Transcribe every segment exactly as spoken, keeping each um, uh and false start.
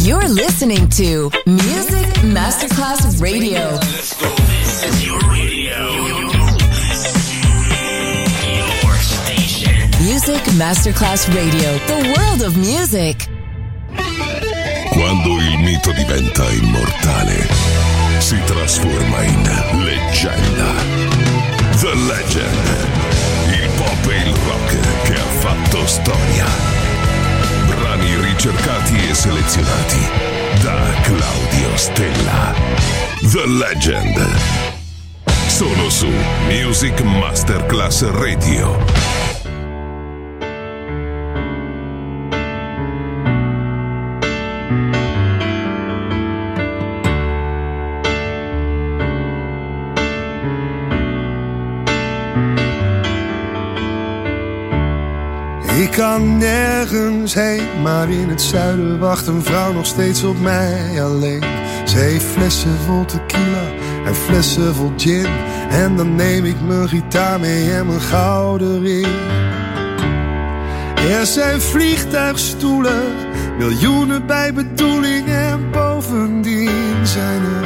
You're listening to Music Masterclass Radio. Let's go. This is your radio. Your station. Music Masterclass Radio. The world of music. Quando il mito diventa immortale, si trasforma in leggenda. The Legend. Il pop e il rock che ha fatto storia. Brani ricercati e selezionati da Claudio Stella. The Legend. Solo su Music Masterclass Radio. Ik kan nergens heen, maar in het zuiden wacht een vrouw nog steeds op mij alleen. Ze heeft flessen vol tequila en flessen vol gin. En dan neem ik mijn gitaar mee en mijn gouden ring. Er zijn vliegtuigstoelen, miljoenen bij bedoeling. En bovendien zijn er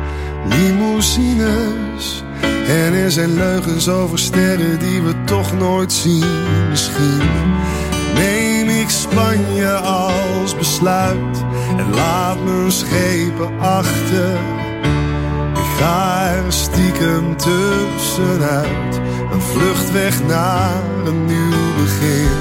limousines. En er zijn leugens over sterren die we toch nooit zien. Misschien neem ik Spanje als besluit en laat mijn schepen achter. Ik ga er stiekem tussenuit, een vlucht weg naar een nieuw begin.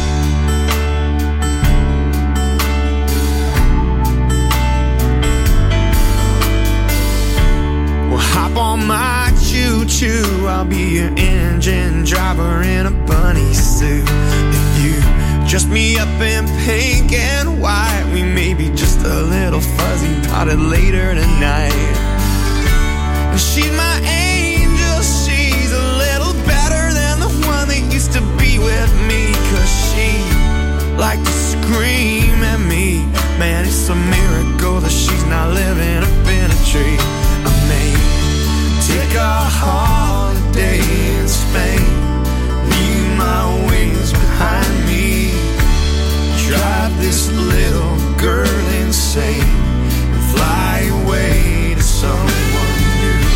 Well, hop on my choo-choo, I'll be your engine driver in a bunny suit. If you dress me up in pink and white, we may be just a little fuzzy potted later tonight. And she's my angel, she's a little better than the one that used to be with me. Cause she liked to scream at me. Man, it's a miracle that she's not living up in a tree. I may take a holiday in Spain, leave my wings behind me, drive this little girl insane, and fly away to someone new.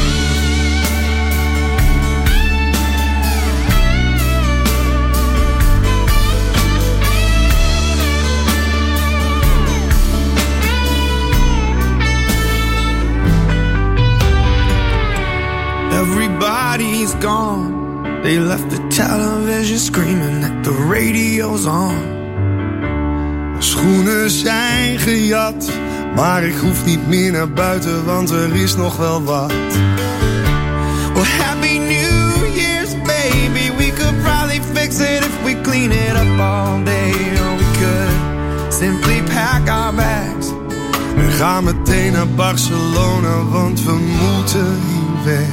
Everybody's gone, they left the television screaming that the radio's on. Schoenen zijn gejat, maar ik hoef niet meer naar buiten, want er is nog wel wat. Well, happy New Year's, baby. We could probably fix it if we clean it up all day. Or we could simply pack our bags. We gaan meteen naar Barcelona, want we moeten hier weg.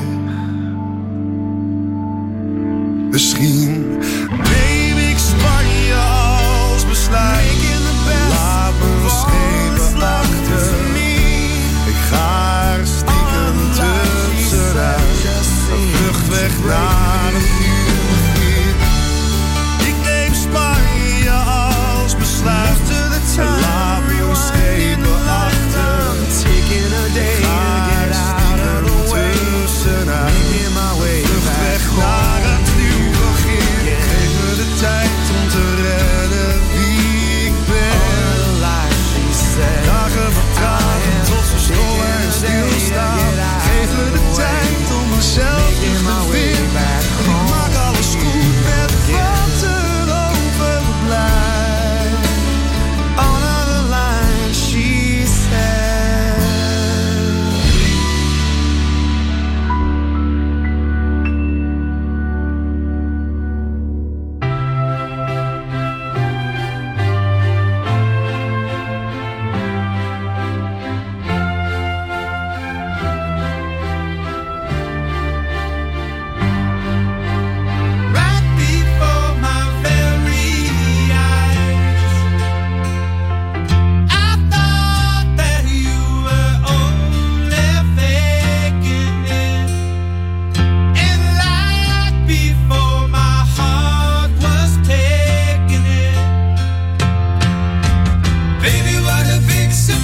Misschien neem ik Spanje als besluit. Laat me schepen achter. Ik ga er stiekem tussenuit. Een vlucht weg naar een nieuw begin. Ik neem Spanje als besluit. Laat me schepen achter. Ik ga er stiekem tussenuit. Een vlucht weg naar een nieuw begin. Geef me de tijd om te redden wie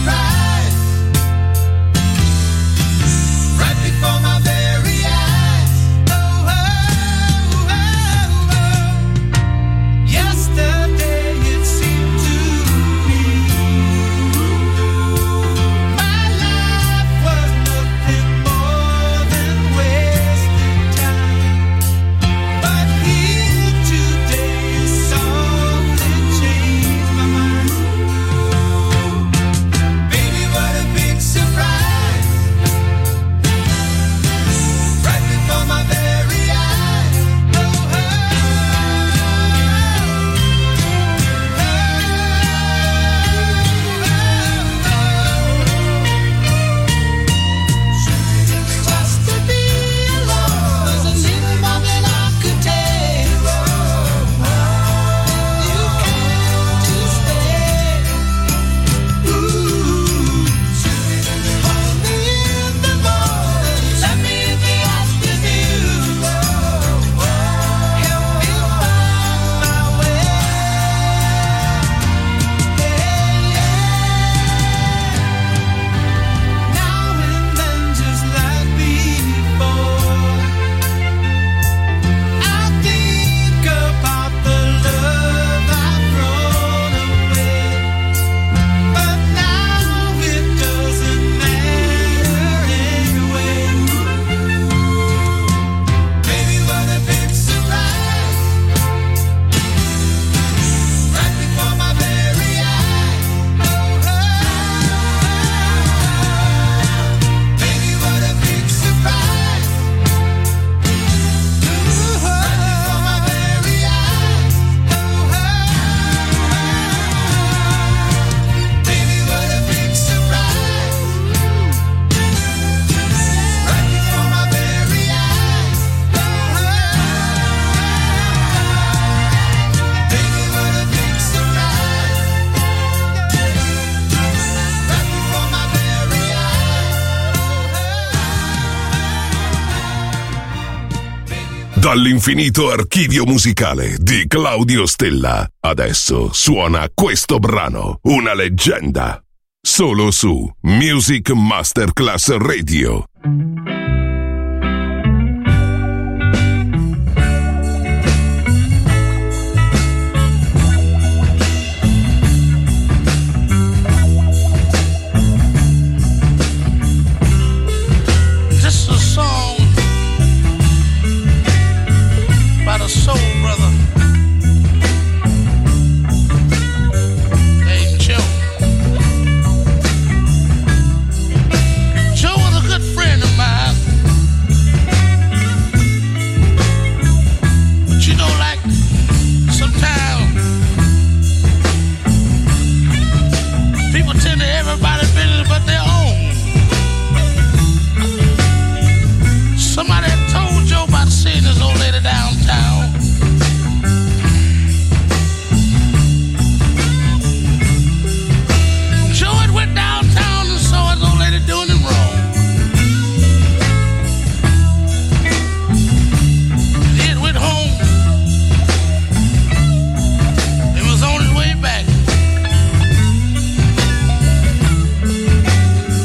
surprise. Right before my very eyes. Oh, oh, oh, oh. Yesterday it seemed to me my life was nothing more than wasted time. But here today is something changed my mind. Baby, what a big surprise. Right before my very eyes. Oh, oh, just to be alone was a little more than I could take. You came to stay. Ooh, hold me in the morning, let me in the afternoon. Help me find my way. Now and then, just like before, I think about the love I've thrown away. But now it doesn't matter anyway. Baby, what a big surprise. Right before my very eyes. Oh, oh, baby, what a big surprise. Right before my very eyes. Oh, oh, baby, what a big surprise. Right before my very eyes. Oh, baby, what a big surprise. Right before my very eyes. Dall'infinito archivio musicale di Claudio Stella. Adesso suona questo brano, una leggenda. Solo su Music Masterclass Radio. This is a song about a soul brother named Joe. Joe was a good friend of mine. But you know, like, sometimes people tend to everybody's business but their own. Somebody had told Joe about seeing this old lady downtown. Joe had went downtown and saw his old lady doing him wrong. He had went home and was on his way back.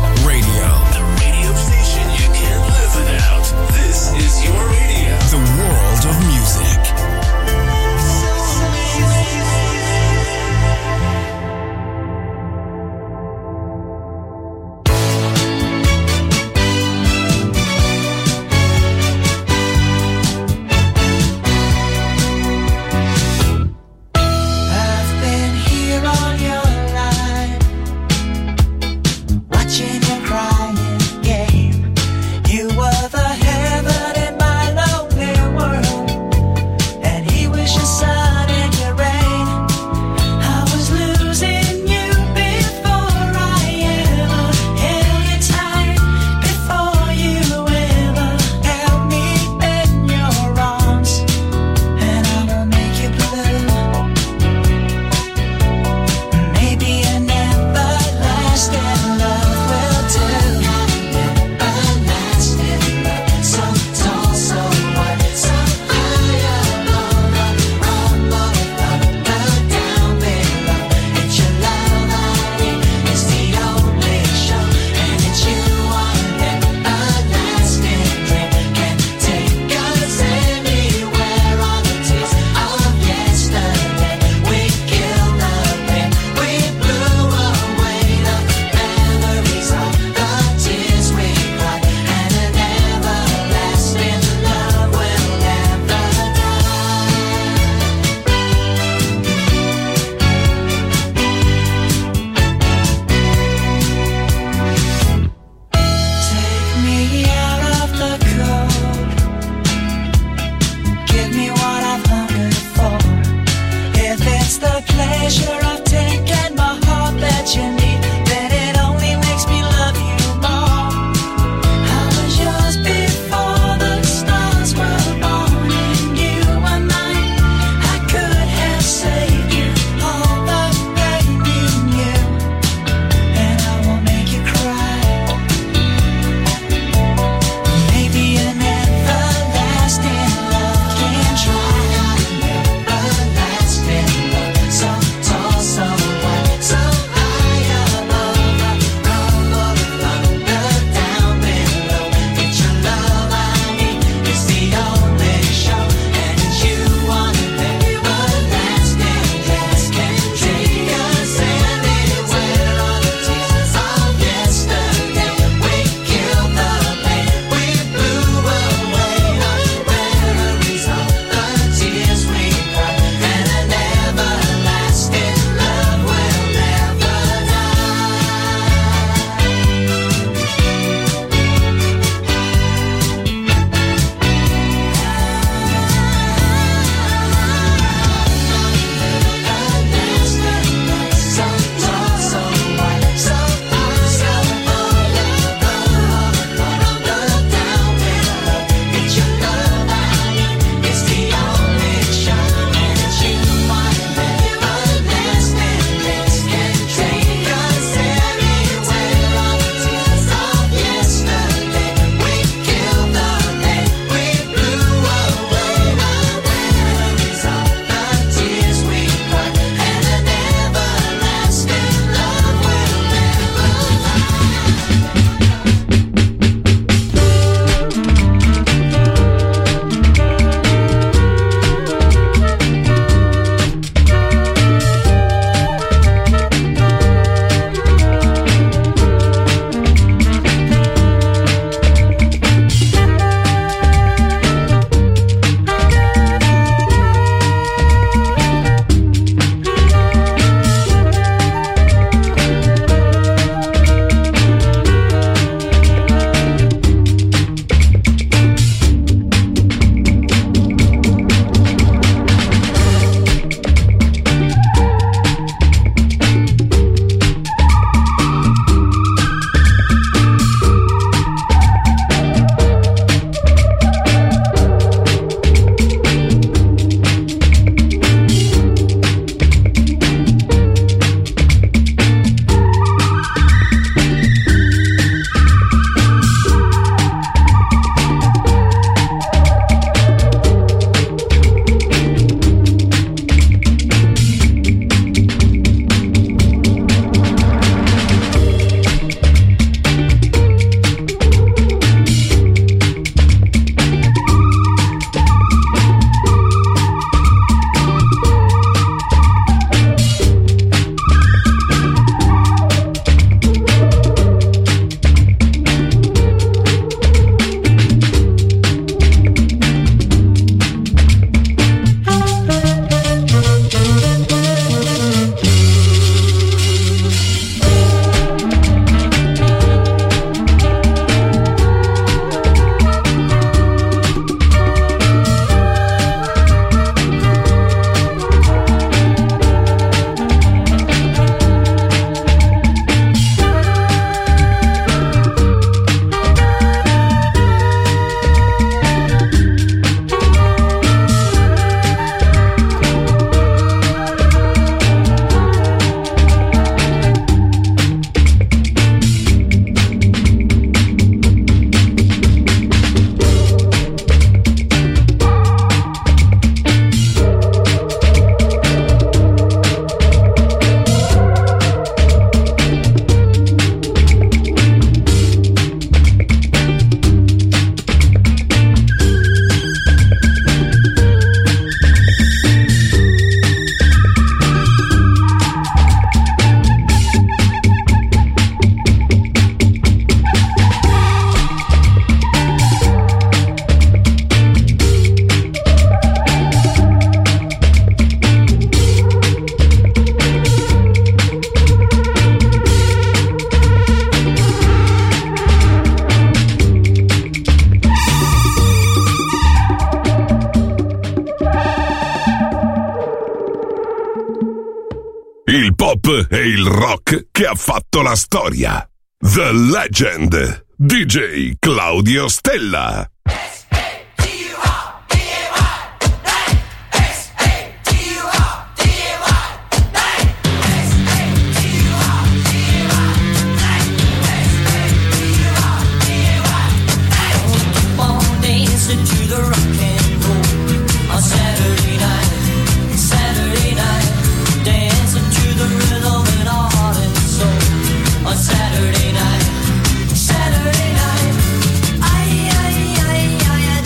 Radio. The radio station you can't live without. This is your radio. The world of music. You were the heaven in my lonely world. rock che ha fatto la storia. The Legend, D J Claudio Stella. Saturday night, Saturday night, I, I, I,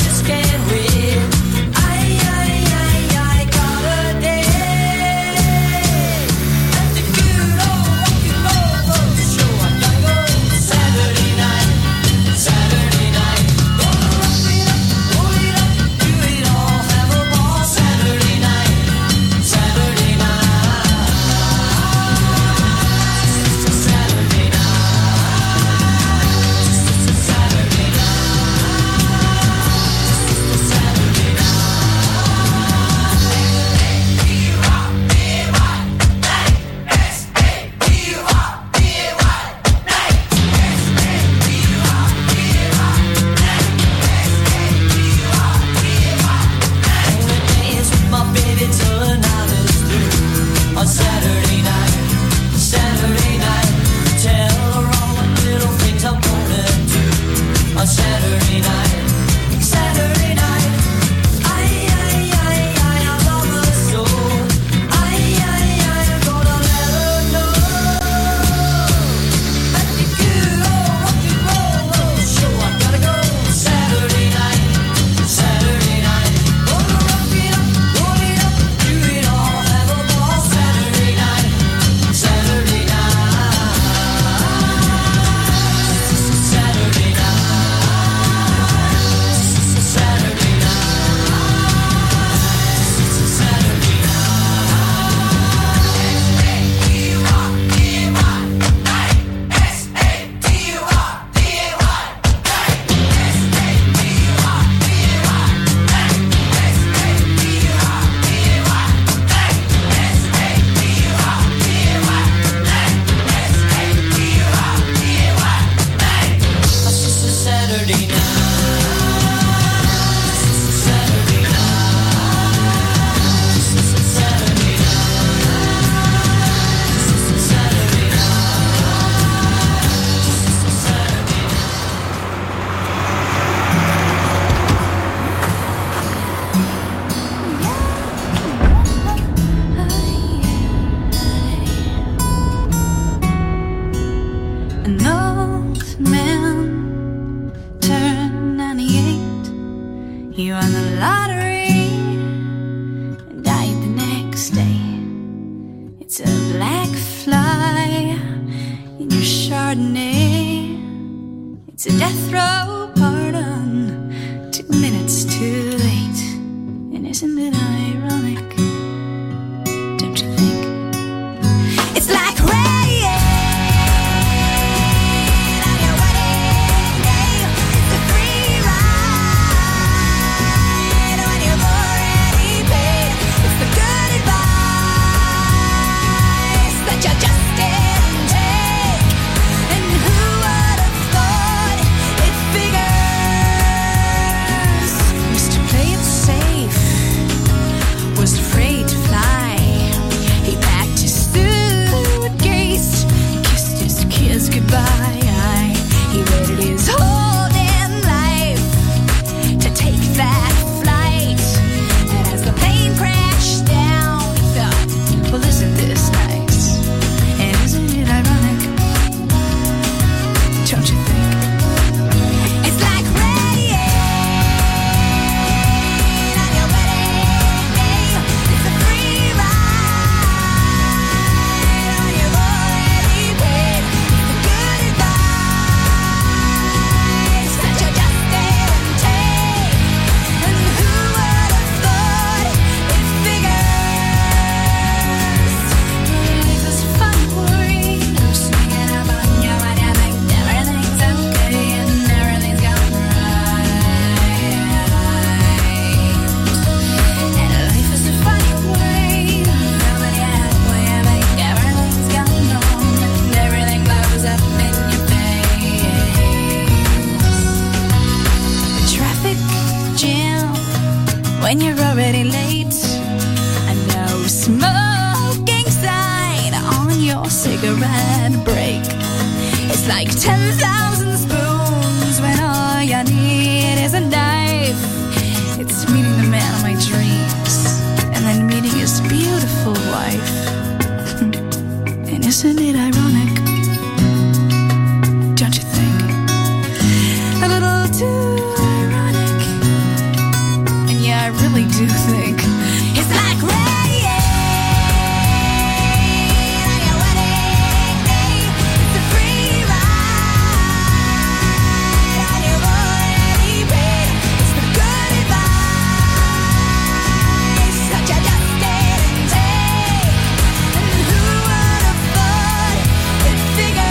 Chardonnay. It's a death row pardon, two minutes too late. And isn't it ironic? Don't you think? It's like rain on your wedding day. It's a free ride when you've already paid. It's the good advice that you just didn't take. And who would have thought it figured when you're already late. And no smoking sign on your cigarette break. It's like ten thousand spoons when all you need is a knife. It's meeting the man of my dreams and then meeting his beautiful wife. And isn't it ironic? Don't you think? A little too ironic. And yeah, I really do think it's like rain on your wedding day. It's a free ride on your already paid. It's the good advice that you just didn't take. And who would have thought it figures?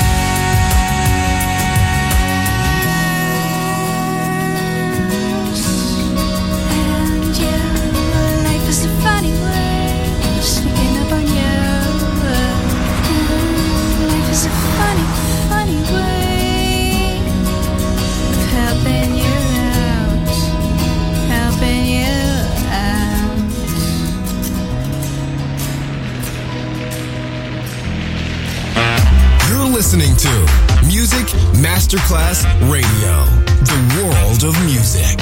And yeah, life is a funny way of sneaking up on you. Life is a funny, funny way of helping you out, helping you out. You're listening to Music Masterclass Radio, the world of music.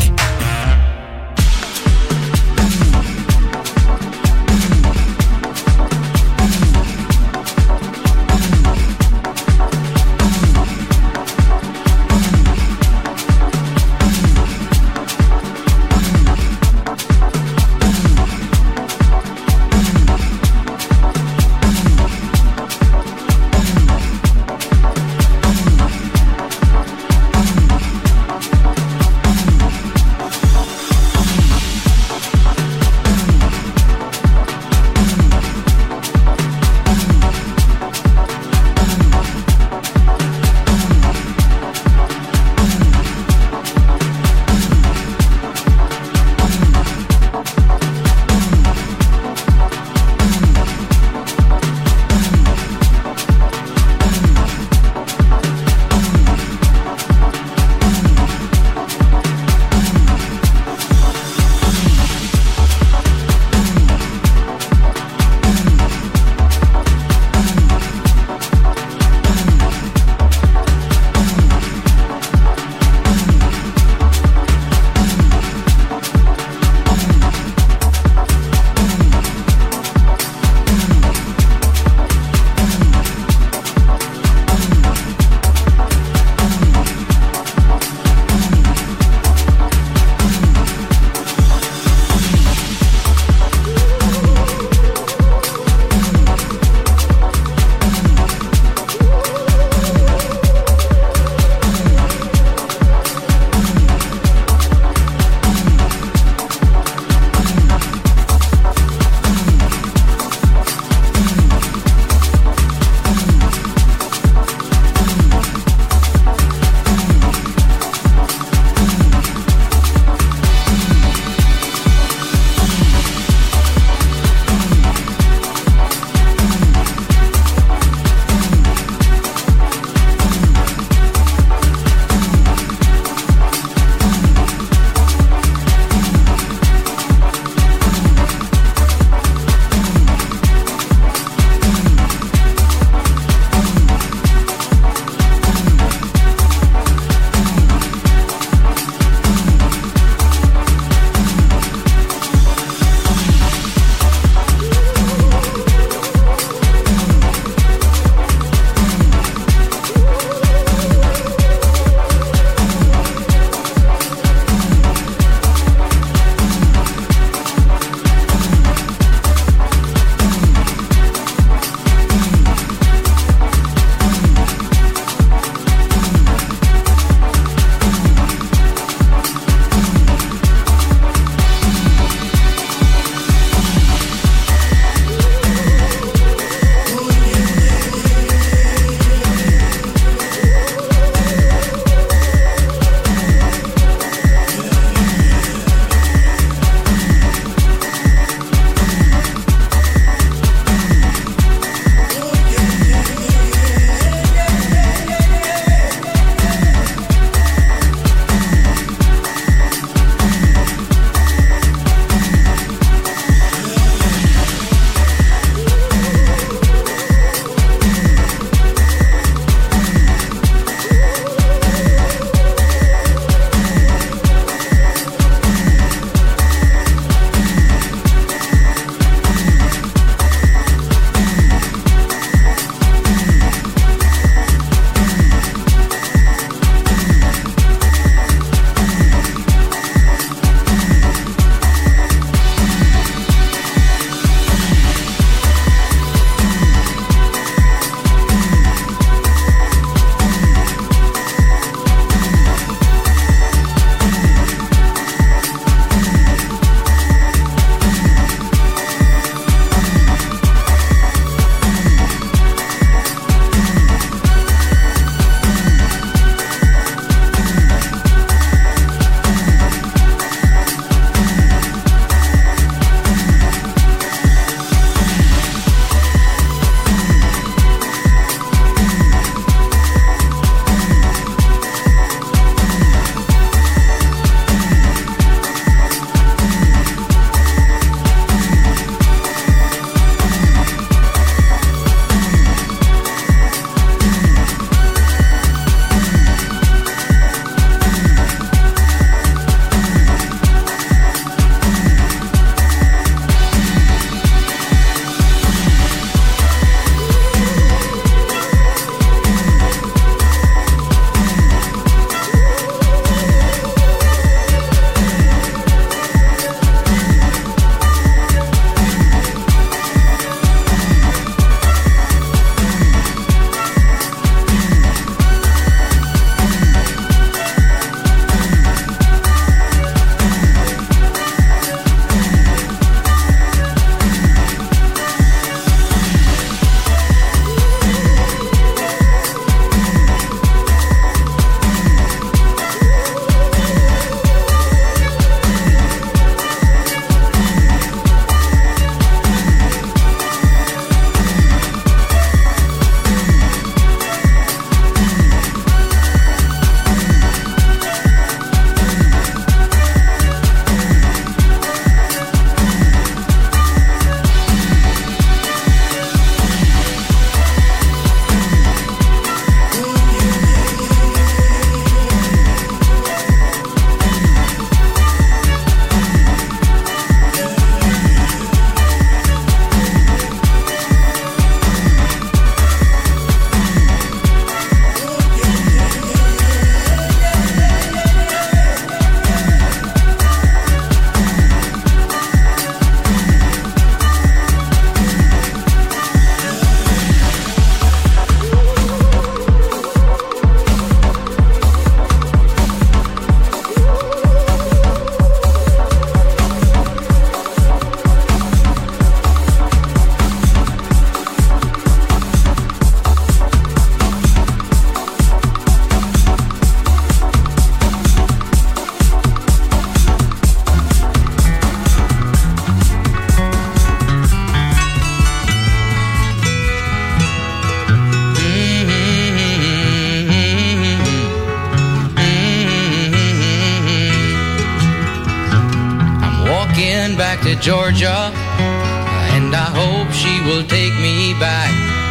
back to Georgia, and I hope she will take me back.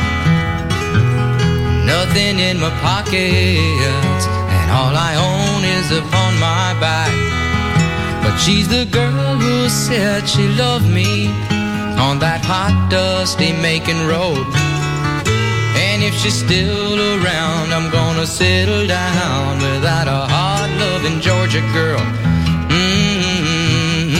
Nothing in my pockets, and all I own is upon my back. But she's the girl who said she loved me on that hot, dusty Macon road. And if she's still around, I'm gonna settle down without a hard, loving Georgia girl. Mm-hmm.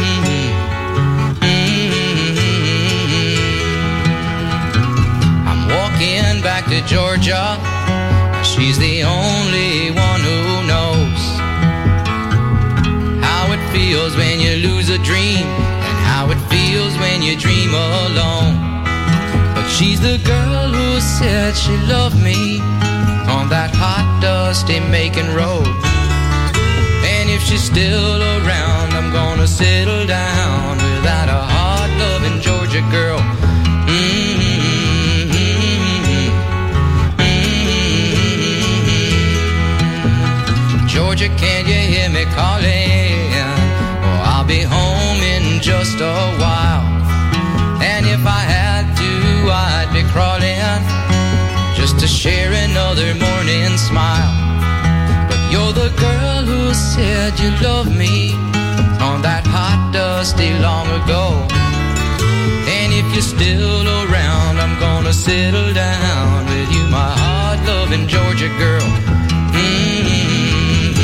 Mm-hmm. I'm walking back to Georgia. She's the only one who knows how it feels when you lose a dream, and how it feels when you dream alone. But she's the girl who said she loved me on that hot, dusty Macon road. And if she's still around, I'm gonna settle down without a hard, loving Georgia girl. Mm-hmm. Mm-hmm. Georgia, can you hear me calling? Oh, I'll be home in just a while. And if I had to, I'd be crawling just to share another morning smile. But you're the girl who said you loved me on that hot, dusty long ago. And if you're still around, I'm gonna settle down with you, my hard-loving Georgia girl. Mm-hmm.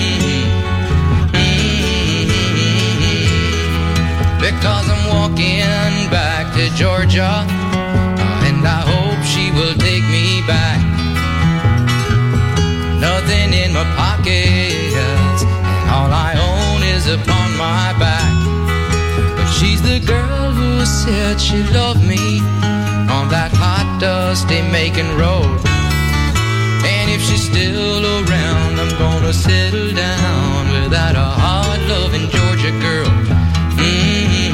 Mm-hmm. Because I'm walking back to Georgia, and I hope she will take me back. Nothing in my pockets, and all I own is upon my back. But she's the girl who said she loved me on that hot, dusty Macon road. And if she's still around, I'm gonna settle down without a hard, loving Georgia girl. Mm-hmm.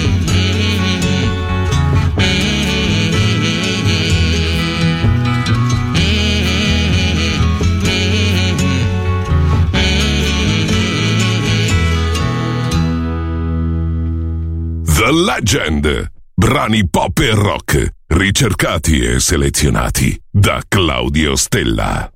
The Legend. Brani pop e rock, ricercati e selezionati da Claudio Stella.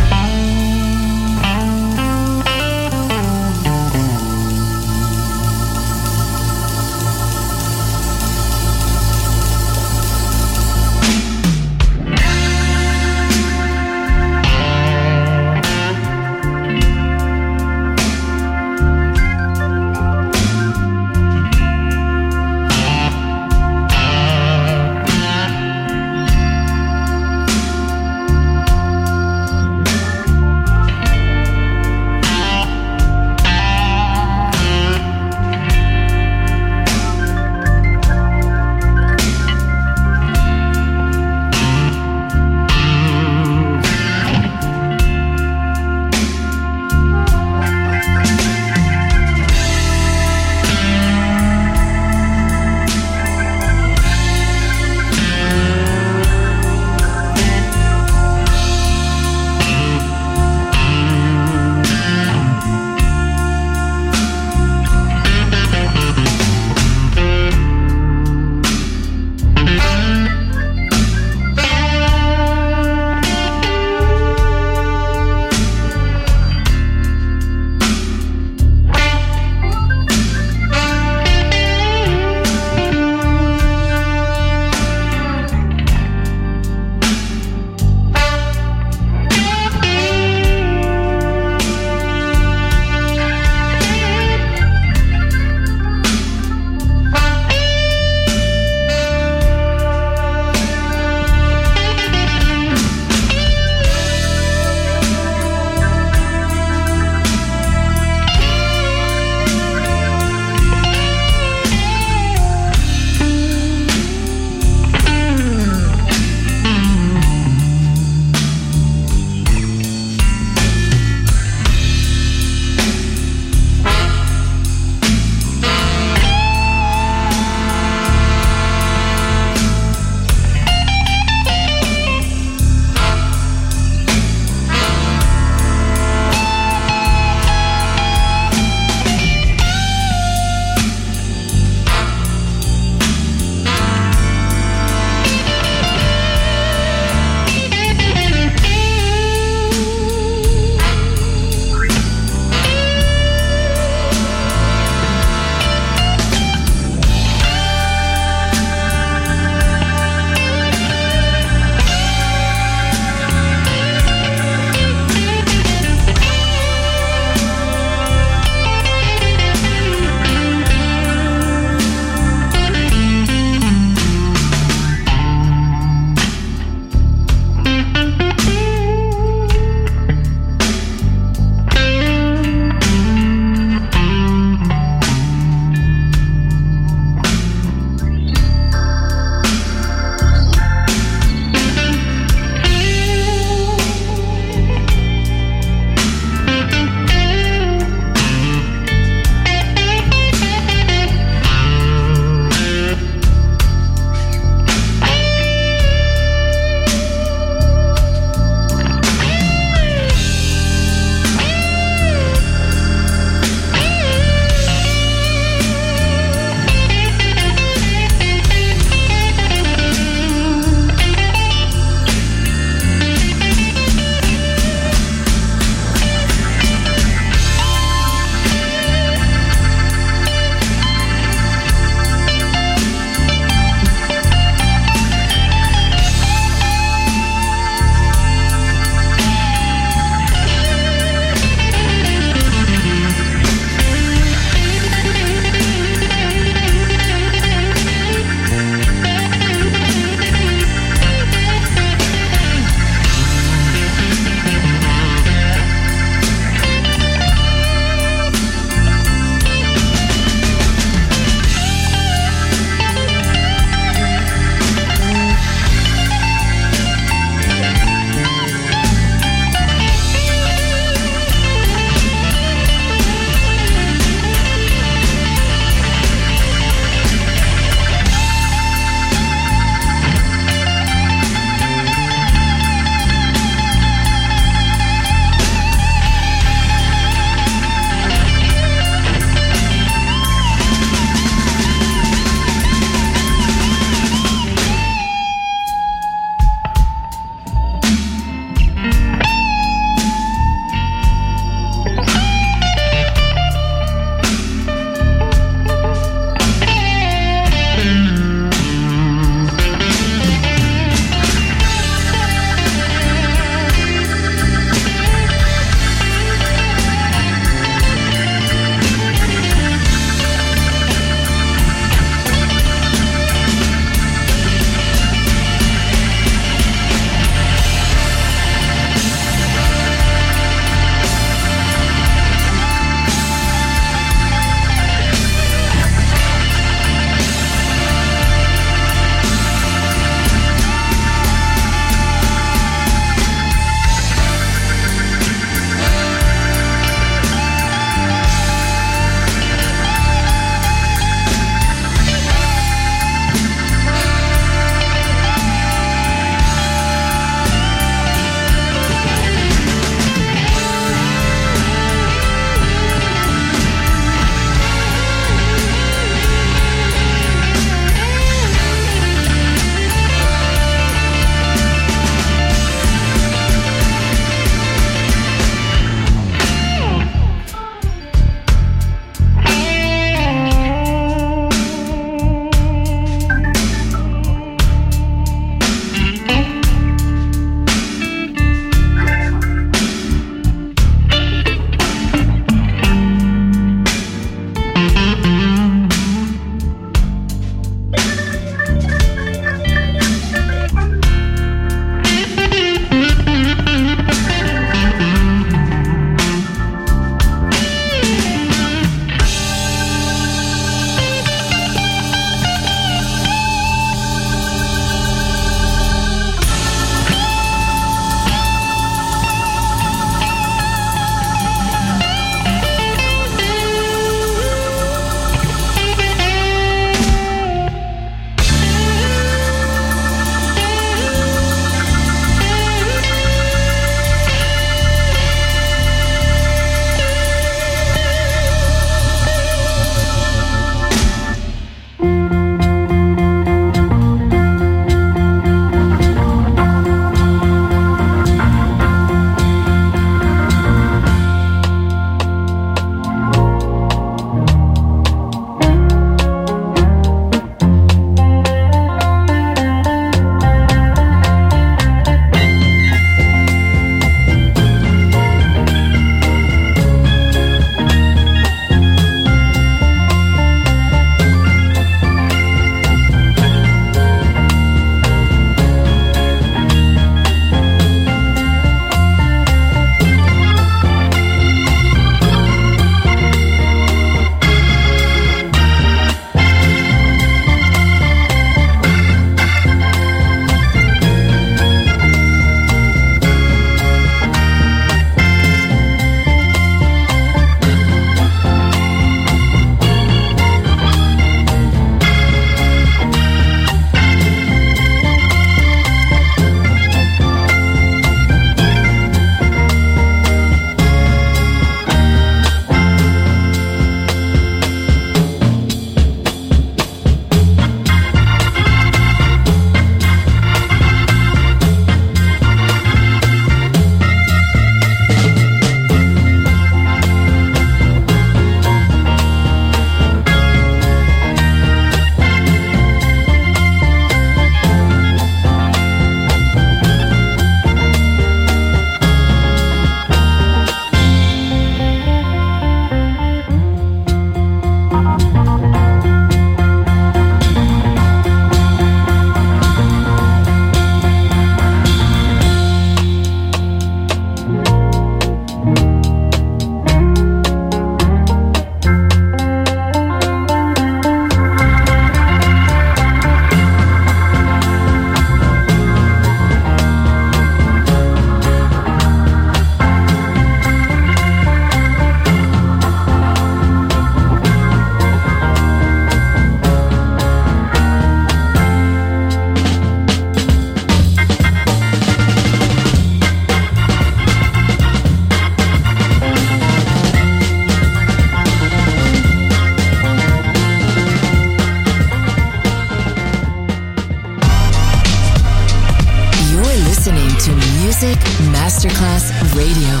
Music Masterclass Radio.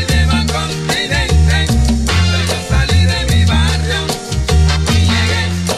Salí de mi barrio y llegué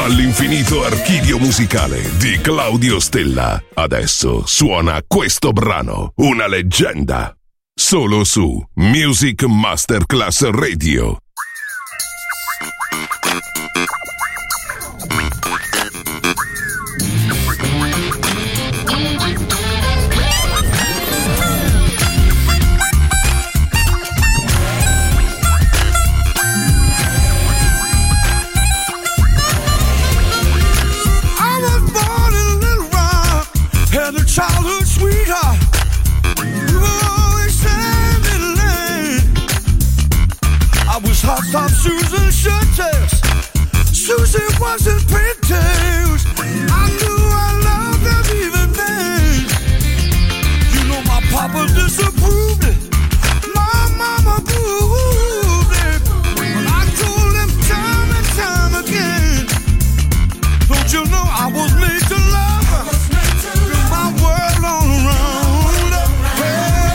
Dall'infinito archivio musicale di Claudio Stella. Adesso suona questo brano, una leggenda. Solo su Music Masterclass Radio. Childhood sweetheart, you were always standing lane. I was hot top Susan shirtless. Susie wasn't pretty. I knew I loved her even then. You know my papa disapproved it. My mama approved it. But I told him time and time again. Don't you know I was made to love her? My world all around. Hey,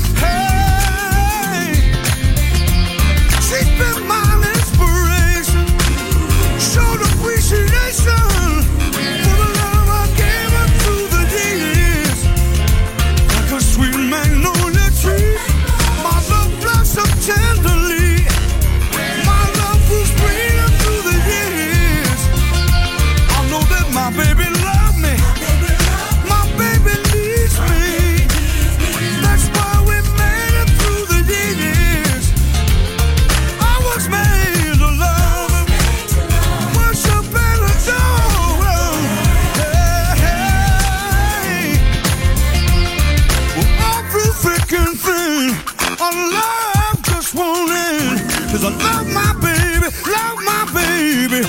hey. She's been my inspiration. Showed appreciation for the love I gave her through the years. Like a sweet magnolia tree, my love blossomed tenderly. My love was greener through the years. I know that my baby loved me. Baby needs me. That's why we made it through the years. I was made to love, worship and adore. Hey, hey. Well, every freaking thing I love just won't end. 'Cause I love my baby, love my baby.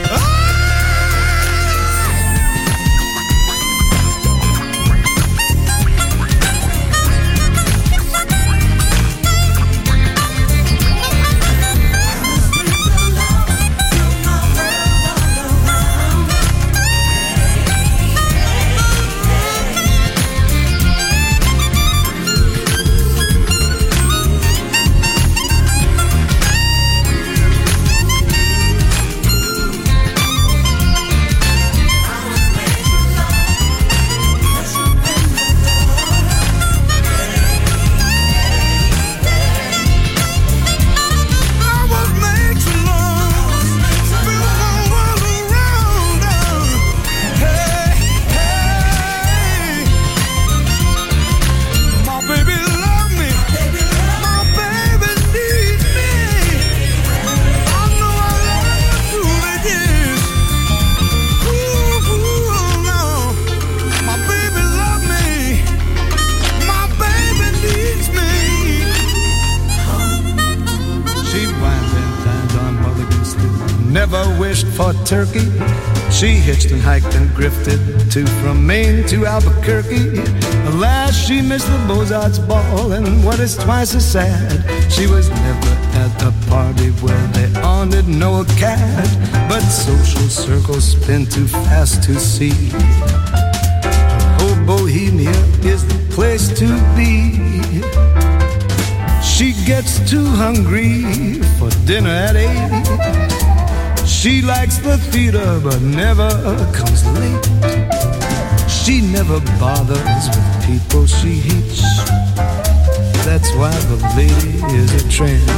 Turkey. She hitched and hiked and grifted to from Maine to Albuquerque. Alas, she missed the Beaux-Arts ball, and what is twice as sad, she was never at a party where they honored no cat. But social circles spin too fast to see. Oh, Bohemia is the place to be. She gets too hungry for dinner at eight. She likes the theater but never comes late. She never bothers with people she hates. That's why the lady is a trend.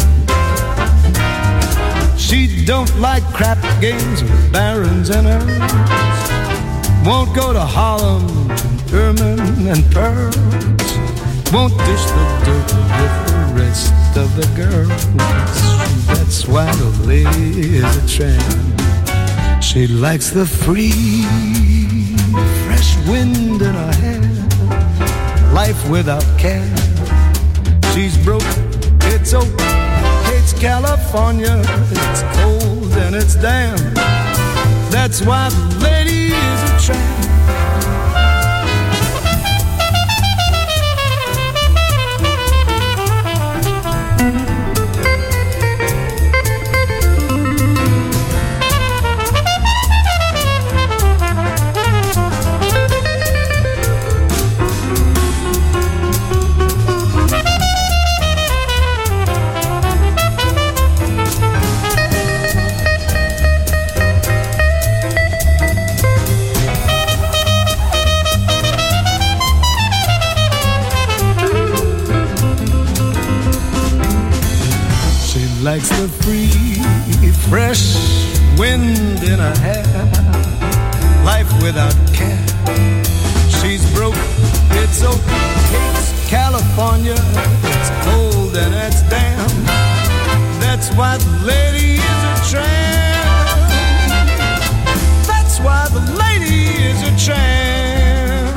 She don't like crap games with barons and earls. Won't go to Harlem and ermine and pearls. Won't dish the dirt with the rest of the girls. That's why the lady is a tramp. She likes the free, fresh wind in her hair. Life without care. She's broke, it's oak, hates California. It's cold and it's damp. That's why the lady is a tramp. likes the free, fresh wind in her hair, life without care. She's broke, it's okay, it's California, it's cold and it's damn. That's why the lady is a tramp. That's why the lady is a tramp.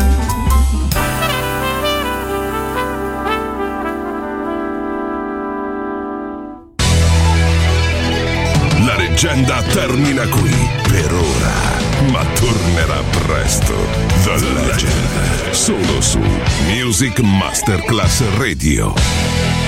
La leggenda termina qui per ora, ma tornerà presto. The Legend, solo su Music Masterclass Radio.